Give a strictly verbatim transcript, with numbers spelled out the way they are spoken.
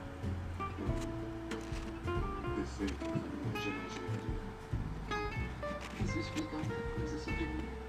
Defeitos de uma engenharia. Isso explica muita coisa sobre mim.